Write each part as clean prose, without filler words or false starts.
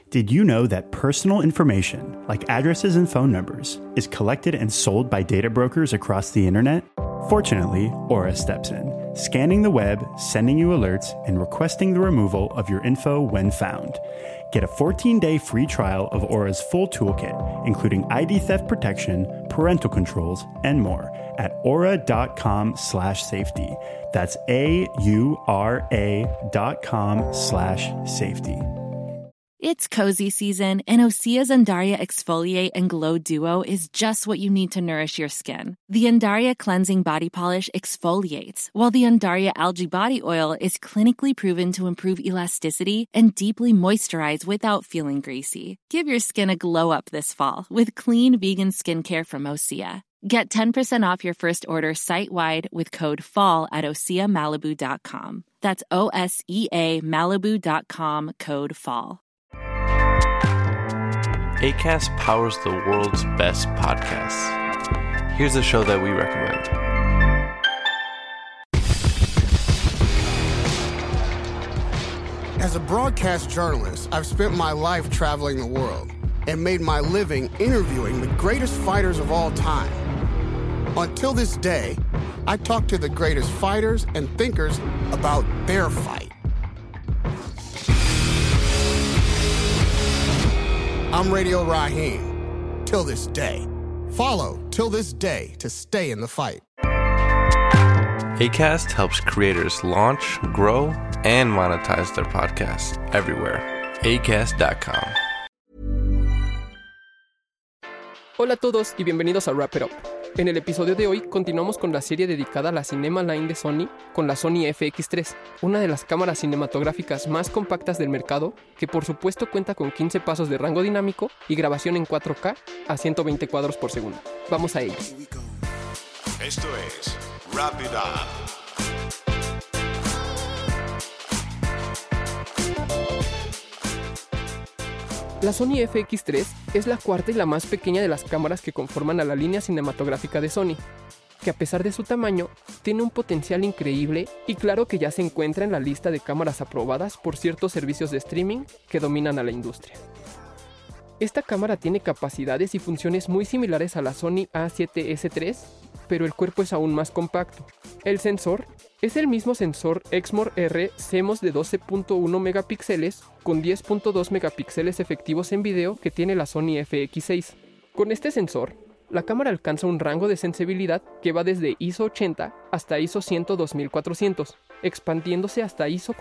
Did you know that personal information, like addresses and phone numbers, is collected and sold by data brokers across the internet? Fortunately, Aura steps in, scanning the web, sending you alerts, and requesting the removal of your info when found. Get a 14-day free trial of Aura's full toolkit, including ID theft protection, parental controls, and more at aura.com/safety. That's AURA.com/safety. It's cozy season, and Osea's Undaria Exfoliate and Glow Duo is just what you need to nourish your skin. The Undaria Cleansing Body Polish exfoliates, while the Undaria Algae Body Oil is clinically proven to improve elasticity and deeply moisturize without feeling greasy. Give your skin a glow up this fall with clean vegan skincare from Osea. Get 10% off your first order site-wide with code FALL at OseaMalibu.com. That's OSEA Malibu.com, code FALL. Acast powers the world's best podcasts. Here's a show that we recommend. As a broadcast journalist, I've spent my life traveling the world and made my living interviewing the greatest fighters of all time. Until this day, I talk to the greatest fighters and thinkers about their fight. I'm Radio Raheem, till this day. Follow Till This Day to stay in the fight. Acast helps creators launch, grow, and monetize their podcasts everywhere. Acast.com. Hola a todos y bienvenidos a Wrap It Up. En el episodio de hoy continuamos con la serie dedicada a la Cinema Line de Sony con la Sony FX3, una de las cámaras cinematográficas más compactas del mercado que por supuesto cuenta con 15 pasos de rango dinámico y grabación en 4K a 120 cuadros por segundo. Vamos a ello. Esto es Wrap It Up. La Sony FX3 es la cuarta y la más pequeña de las cámaras que conforman a la línea cinematográfica de Sony, que a pesar de su tamaño, tiene un potencial increíble y claro que ya se encuentra en la lista de cámaras aprobadas por ciertos servicios de streaming que dominan a la industria. Esta cámara tiene capacidades y funciones muy similares a la Sony A7S III, pero el cuerpo es aún más compacto. El sensor es el mismo sensor Exmor R CMOS de 12.1 megapíxeles con 10.2 megapíxeles efectivos en video que tiene la Sony FX6. Con este sensor, la cámara alcanza un rango de sensibilidad que va desde ISO 80 hasta ISO 102.400, expandiéndose hasta ISO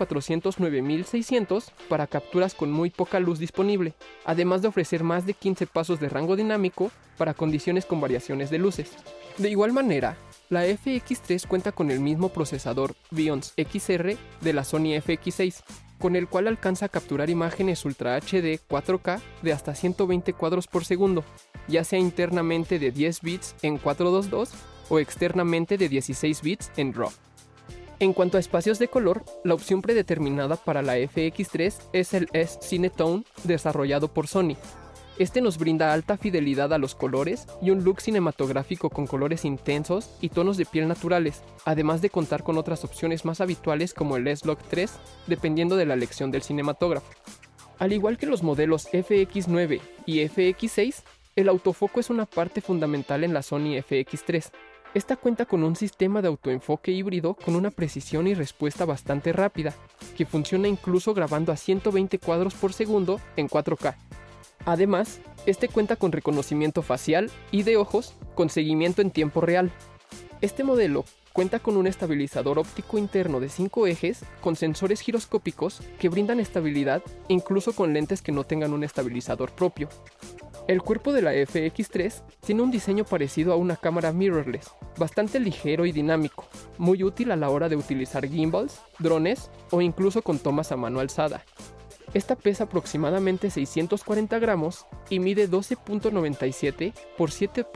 409.600 para capturas con muy poca luz disponible, además de ofrecer más de 15 pasos de rango dinámico para condiciones con variaciones de luces. De igual manera, la FX3 cuenta con el mismo procesador Bionz XR de la Sony FX6, con el cual alcanza a capturar imágenes Ultra HD 4K de hasta 120 cuadros por segundo, ya sea internamente de 10 bits en 422 o externamente de 16 bits en RAW. En cuanto a espacios de color, la opción predeterminada para la FX3 es el S-Cinetone desarrollado por Sony. Este nos brinda alta fidelidad a los colores y un look cinematográfico con colores intensos y tonos de piel naturales, además de contar con otras opciones más habituales como el S-Log 3, dependiendo de la elección del cinematógrafo. Al igual que los modelos FX9 y FX6, el autofoco es una parte fundamental en la Sony FX3. Esta cuenta con un sistema de autoenfoque híbrido con una precisión y respuesta bastante rápida, que funciona incluso grabando a 120 cuadros por segundo en 4K. Además, este cuenta con reconocimiento facial y de ojos con seguimiento en tiempo real. Este modelo cuenta con un estabilizador óptico interno de 5 ejes con sensores giroscópicos que brindan estabilidad incluso con lentes que no tengan un estabilizador propio. El cuerpo de la FX3 tiene un diseño parecido a una cámara mirrorless, bastante ligero y dinámico, muy útil a la hora de utilizar gimbals, drones o incluso con tomas a mano alzada. Esta pesa aproximadamente 640 gramos y mide 12.97 por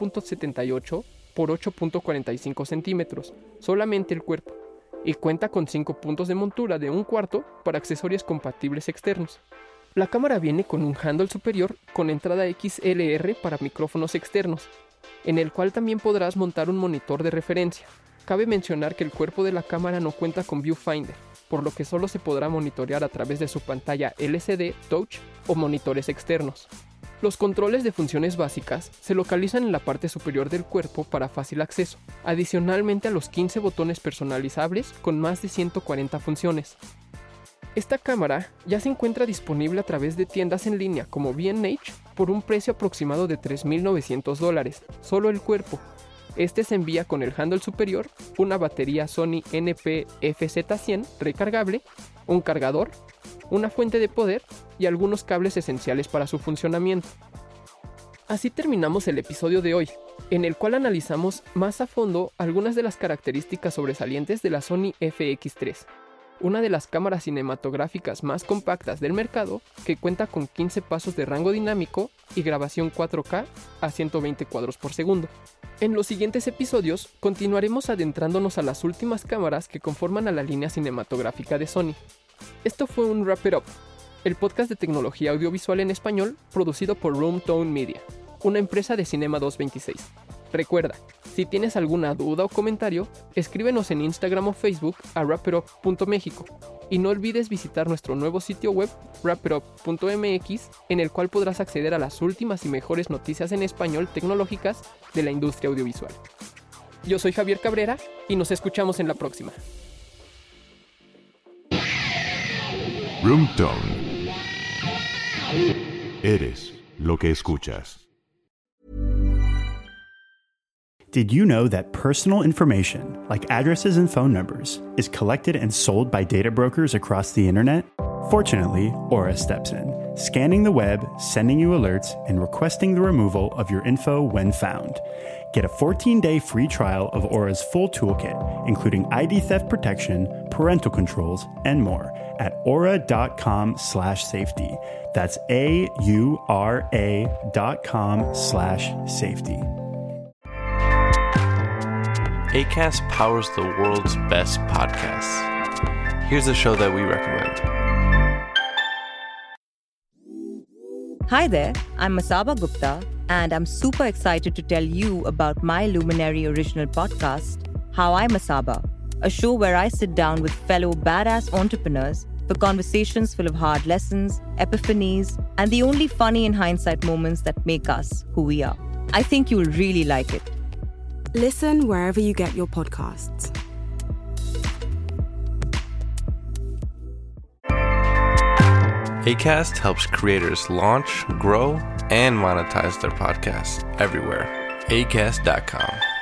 7.78 por 8.45 centímetros, solamente el cuerpo, y cuenta con 5 puntos de montura de 1/4 para accesorios compatibles externos. La cámara viene con un handle superior con entrada XLR para micrófonos externos, en el cual también podrás montar un monitor de referencia. Cabe mencionar que el cuerpo de la cámara no cuenta con viewfinder, por lo que solo se podrá monitorear a través de su pantalla LCD, touch o monitores externos. Los controles de funciones básicas se localizan en la parte superior del cuerpo para fácil acceso, adicionalmente a los 15 botones personalizables con más de 140 funciones. Esta cámara ya se encuentra disponible a través de tiendas en línea como B&H por un precio aproximado de $3,900, solo el cuerpo. Este se envía con el handle superior, una batería Sony NP-FZ100 recargable, un cargador, una fuente de poder y algunos cables esenciales para su funcionamiento. Así terminamos el episodio de hoy, en el cual analizamos más a fondo algunas de las características sobresalientes de la Sony FX3, una de las cámaras cinematográficas más compactas del mercado que cuenta con 15 pasos de rango dinámico y grabación 4K a 120 cuadros por segundo. En los siguientes episodios continuaremos adentrándonos a las últimas cámaras que conforman a la línea cinematográfica de Sony. Esto fue un Wrap It Up, el podcast de tecnología audiovisual en español producido por Room Tone Media, una empresa de Cinema 226. Recuerda, si tienes alguna duda o comentario, escríbenos en Instagram o Facebook a wrapitup.mexico y no olvides visitar nuestro nuevo sitio web wrapitup.mx, en el cual podrás acceder a las últimas y mejores noticias en español tecnológicas de la industria audiovisual. Yo soy Javier Cabrera y nos escuchamos en la próxima. Room Tone. Eres lo que escuchas. Did you know that personal information, like addresses and phone numbers, is collected and sold by data brokers across the internet? Fortunately, Aura steps in, scanning the web, sending you alerts, and requesting the removal of your info when found. Get a 14-day free trial of Aura's full toolkit, including ID theft protection, parental controls, and more at aura.com/safety. That's AURA.com/safety. Acast powers the world's best podcasts. Here's a show that we recommend. Hi there, I'm Masaba Gupta, and I'm super excited to tell you about my Luminary original podcast, How I Masaba, a show where I sit down with fellow badass entrepreneurs for conversations full of hard lessons, epiphanies, and the only funny in hindsight moments that make us who we are. I think you'll really like it. Listen wherever you get your podcasts. Acast helps creators launch, grow, and monetize their podcasts everywhere. Acast.com.